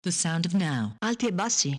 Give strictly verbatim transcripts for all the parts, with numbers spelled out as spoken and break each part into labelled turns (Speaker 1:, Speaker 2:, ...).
Speaker 1: The sound of now.
Speaker 2: Alti e bassi.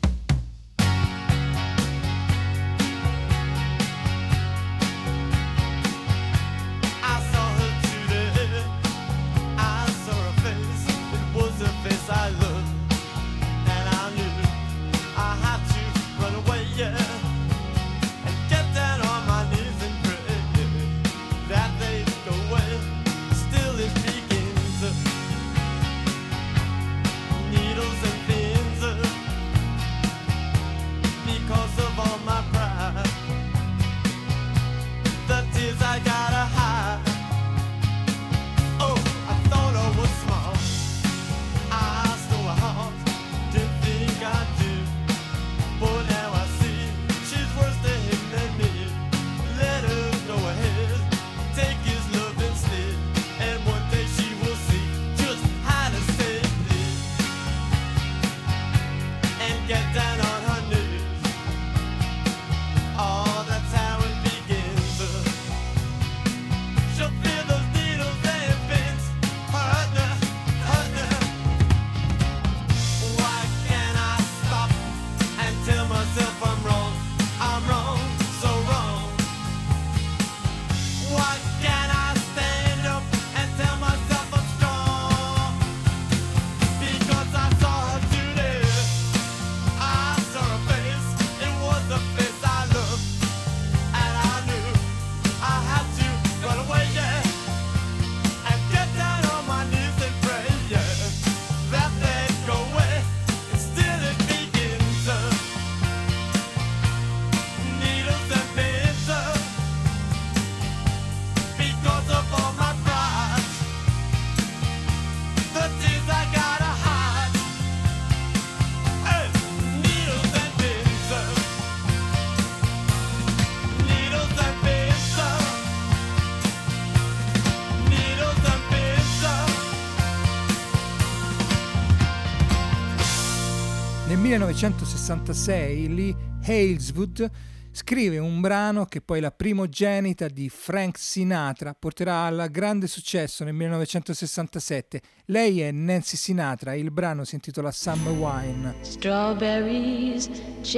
Speaker 3: Nel millenovecentosessantasei Lee Haleswood scrive un brano che poi la primogenita di Frank Sinatra porterà al grande successo nel millenovecentosessantasette. Lei è Nancy Sinatra e il brano si intitola Summer Wine.
Speaker 4: Strawberries,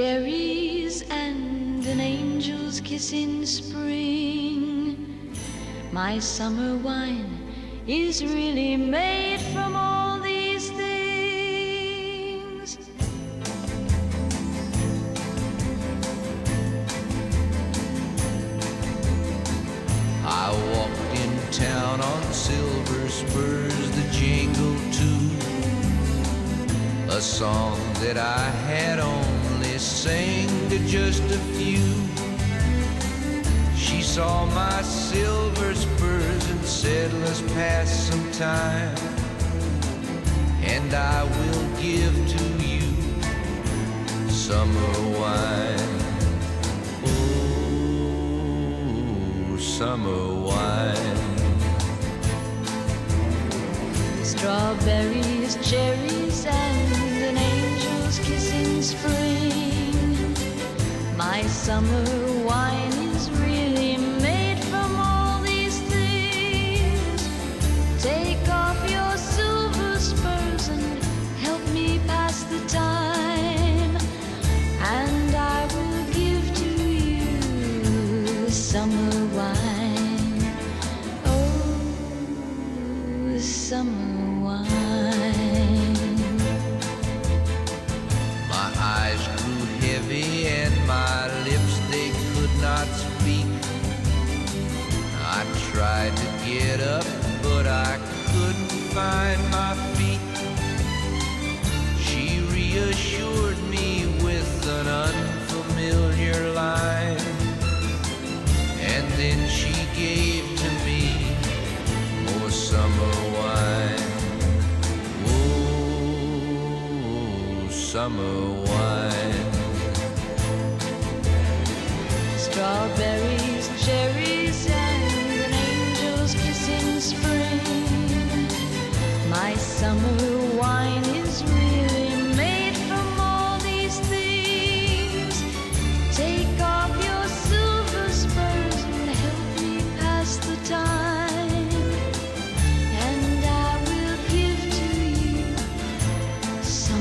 Speaker 4: cherries and an angel's kiss in spring. My summer wine is really made from all these things.
Speaker 5: I walked in town on silver spurs that jingle too, a song that I had only sang to just a few. She saw my silver spurs and said, let's pass some time, and I will give to you summer wine. Summer wine.
Speaker 4: Strawberries, cherries, and an angel's kiss in spring. My summer wine is really made from all these things. Take off your silver spurs and help me pass the time, and I will give to you summer wine. Summer wine.
Speaker 5: My eyes grew heavy and my lips, they could not speak. I tried to get up, but I couldn't find my feet. She reassured me with an unfamiliar line, and then she gave to me more summer wine. Oh, summer wine.
Speaker 4: Strawberries, cherries, and an angel's kiss in spring. My summer wine is really made from all these things. Take off your silver spurs and help me pass the time, and I will give to you some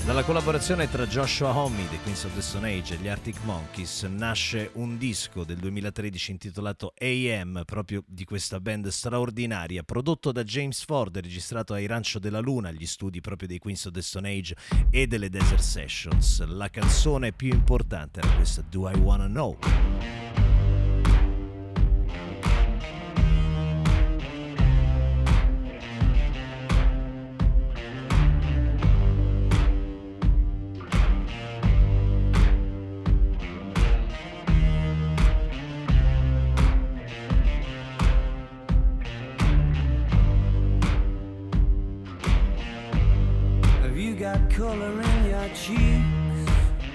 Speaker 1: Dalla collaborazione tra Joshua Homme dei Queens of the Stone Age e gli Arctic Monkeys nasce un disco del duemilatredici intitolato A M, proprio di questa band straordinaria, prodotto da James Ford e registrato ai Rancho della Luna, agli studi proprio dei Queens of the Stone Age e delle Desert Sessions. La canzone più importante era questa, Do I Wanna Know?
Speaker 2: Color in your cheeks.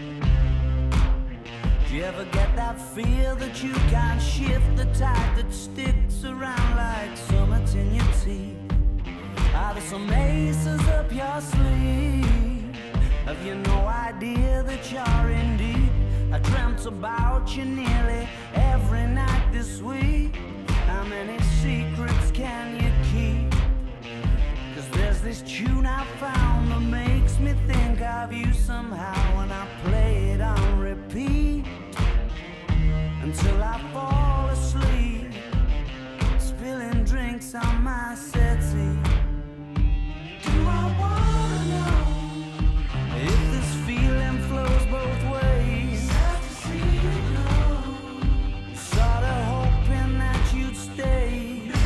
Speaker 2: Do you ever get that feel that you can't shift, the tide that sticks around like summits in your teeth? Are there some aces up your sleeve? Have you no idea that you're in deep? I dreamt about you nearly every night this week. How many secrets can you keep? There's this tune I found that makes me think of you somehow, and I play it on repeat until I fall asleep, spilling drinks on my settee. Do I wanna know if this feeling flows both ways? Sad to see you go, sorta hoping that you'd stay.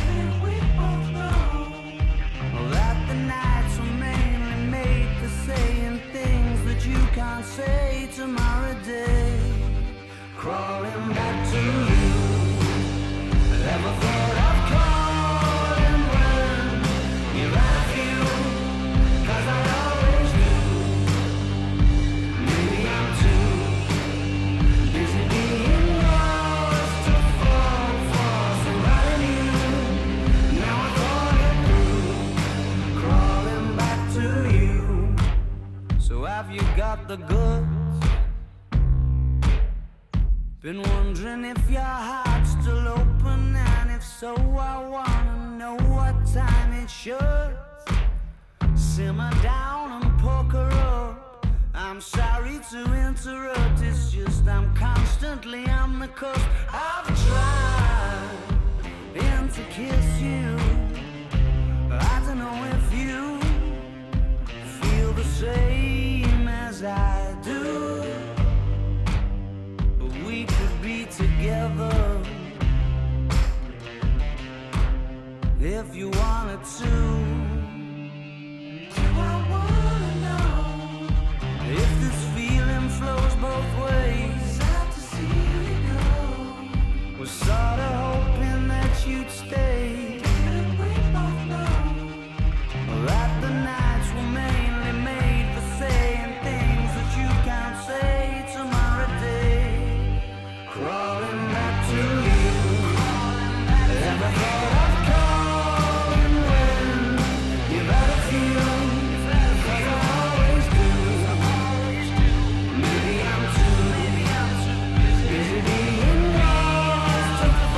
Speaker 2: Can't say tomorrow day, crawling back to you. Never thought of calling when you're at you, 'cause I always do. Maybe I'm too busy being lost to fall for somebody new. Now I thought it through, crawling back to you. So have you got the goods? Been wondering if your heart's still open, and if so, I wanna know what time it should. Simmer down and poker up. I'm sorry to interrupt, it's just I'm constantly on the cusp. I've tried and to kiss you. I don't know if you feel the same as I do, but we could be together if you wanted to. Do I wanna know if this feeling flows both ways? Sad to see you go. Was sorta hoping that you'd stay. Didn't we both know that the nights were mainly made for saying things that you can't say tomorrow day? Crawling back to you. Ever thought of calling when you've had a few? 'Cause I always do. Maybe I'm too busy being lost to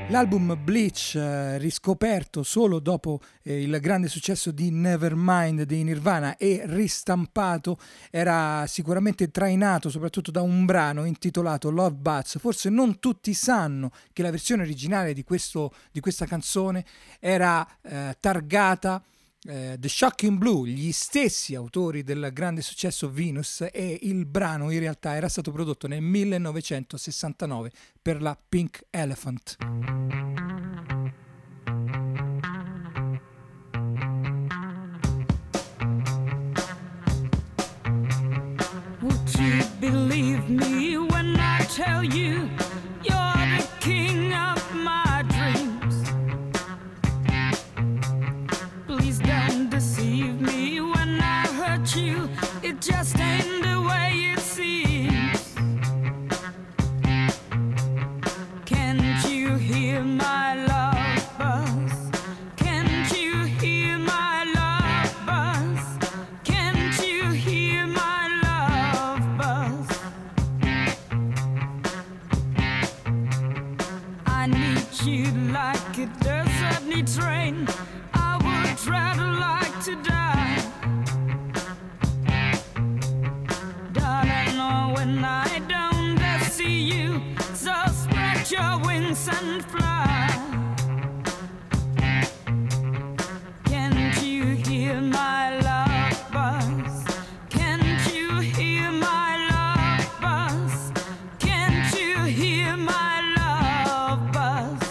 Speaker 3: L'album Bleach, eh, riscoperto solo dopo eh, il grande successo di Nevermind dei Nirvana e ristampato, era sicuramente trainato soprattutto da un brano intitolato Love Buzz. Forse non tutti sanno che la versione originale di, questo, di questa canzone era eh, targata Uh, The Shocking Blue, gli stessi autori del grande successo Venus, e il brano in realtà era stato prodotto nel millenovecentosessantanove per la Pink Elephant.
Speaker 2: Would you believe me when I tell you you're the king of my dreams? Please don't deceive me when I hurt you. It just ain't the way it seems. Can't you hear my love buzz? Can't you hear my love buzz? Can't you hear my love buzz? I need you like a desert needs rain. I'd rather like to die, darling. Oh, when I don't I see you, so spread your wings and fly. Can't you hear my love buzz? Can't you hear my love buzz? Can't you hear my love buzz?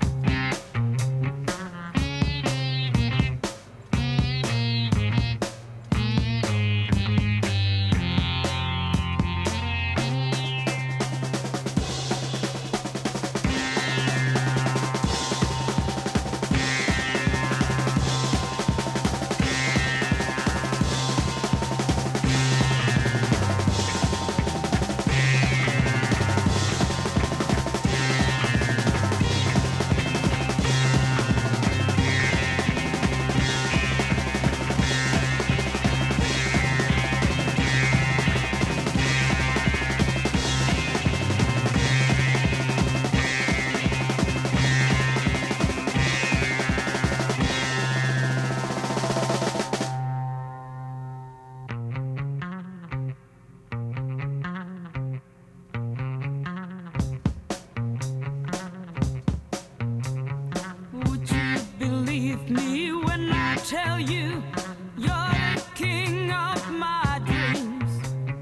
Speaker 2: Tell you you're the king of my dreams.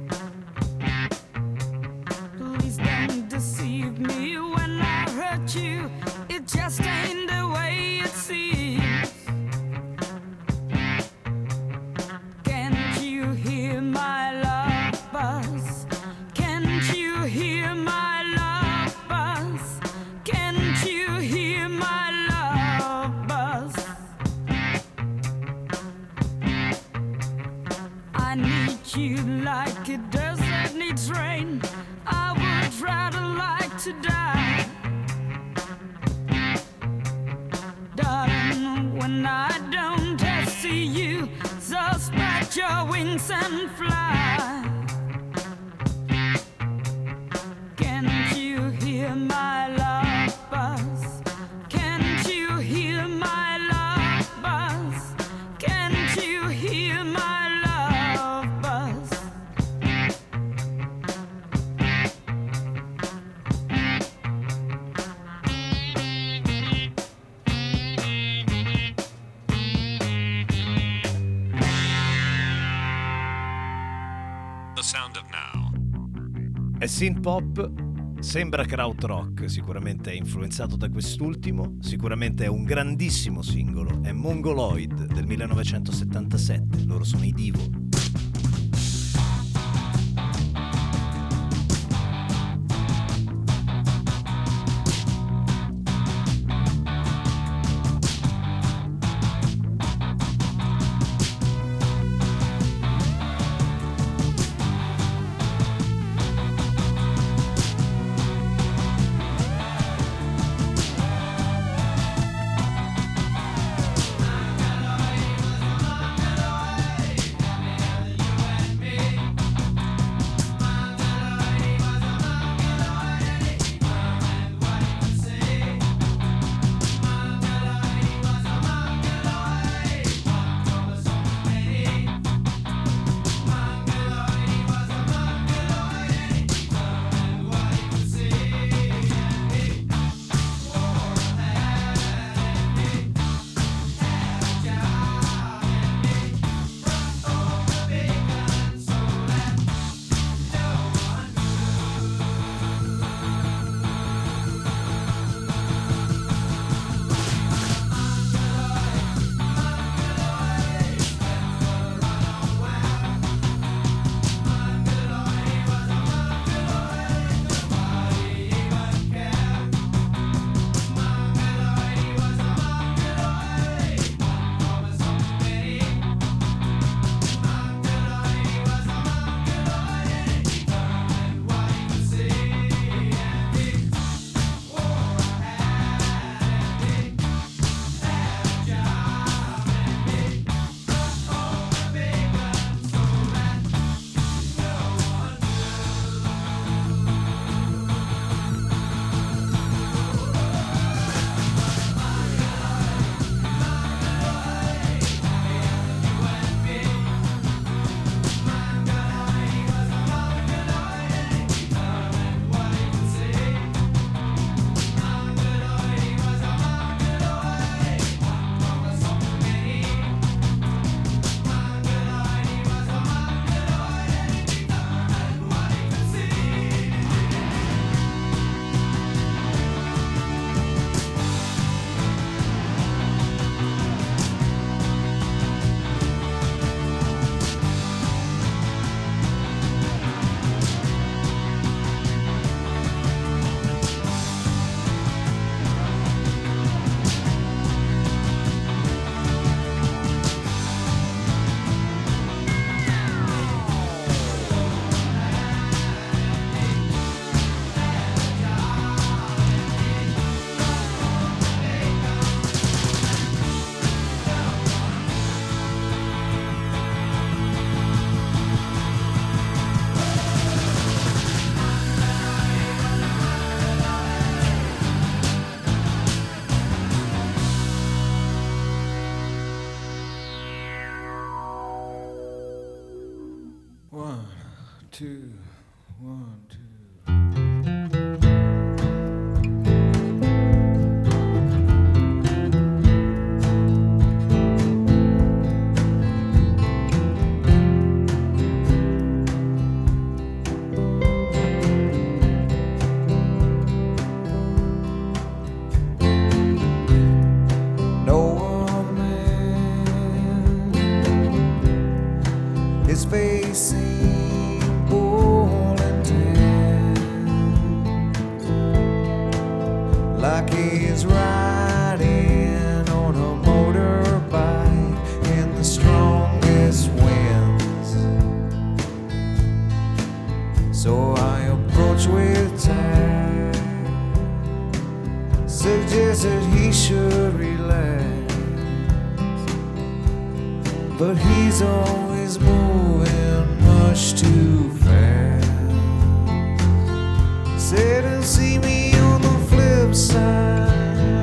Speaker 2: Please don't deceive me when I hurt you. It just ain't the way it seems. Can't you hear my love buzz? Can't you hear my love buzz? Can't you hear my love buzz? I need you like a desert needs rain. I would rather like to die, darling. When I don't I see you, so spread your wings and fly. Can't you hear my love buzz? Can't you hear my love buzz? Can't you hear my love buzz?
Speaker 6: The sound of now.
Speaker 1: È synth pop, sembra krautrock, sicuramente è influenzato da quest'ultimo, sicuramente è un grandissimo singolo, è Mongoloid del millenovecentosettantasette, loro sono i Divo.
Speaker 2: Hey!
Speaker 7: two, one, two.
Speaker 8: But he's always moving much too fast. Said he'll see me on the flip side.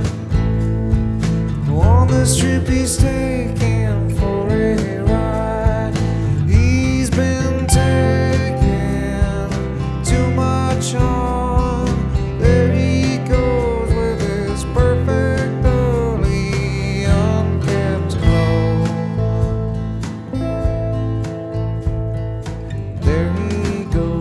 Speaker 8: On this trip he's taking for a ride. He's been taking too much on. There he goes with his perfectly unkept clothes. There he goes.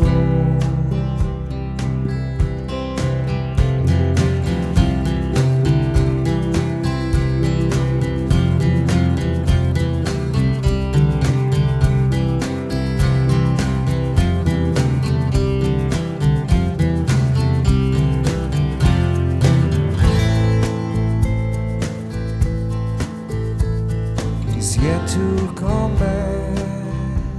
Speaker 8: He's yet to come back,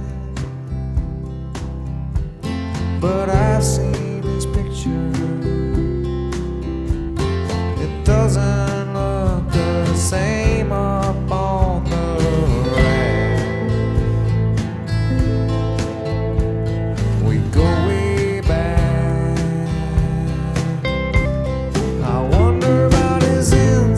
Speaker 8: but I've seen his picture. It doesn't look the same up on the rack. We go way back. I wonder about his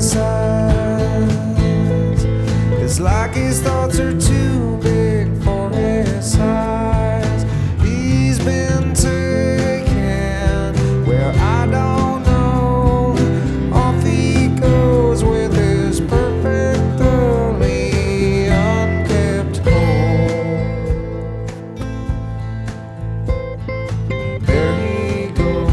Speaker 8: insides. It's like his thoughts are too big for his size. He's been taken where I don't know. Off he goes with his perfectly unkept home. There he goes.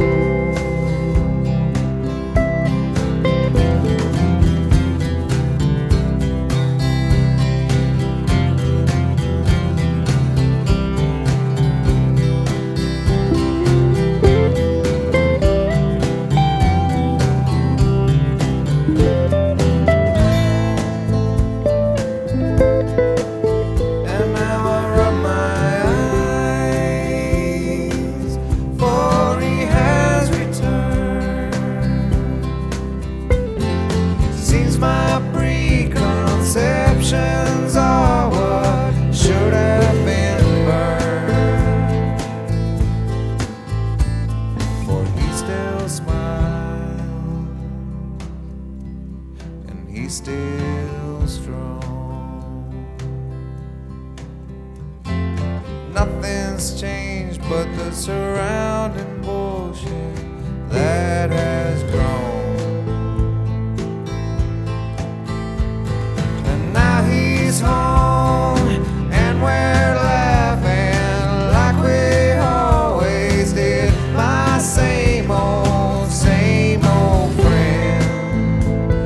Speaker 8: And now I rub my eyes, for he has returned. Seems my preconceptions are what should have been burned. For he still smiles, and he's still strong. Nothing's changed but the surrounding bullshit that has grown. And now he's home, and we're laughing like we always did. My same old, same old friend.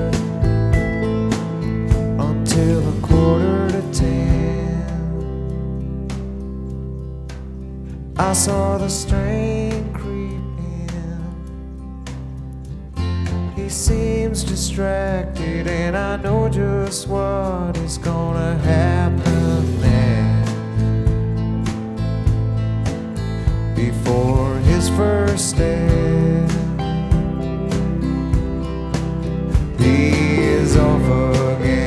Speaker 8: Until a quarter to ten, I saw the strain creep in. He seems distracted, and I know just what is gonna happen next. Before his first step, he is off again.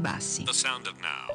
Speaker 9: bassi.
Speaker 6: The sound of now.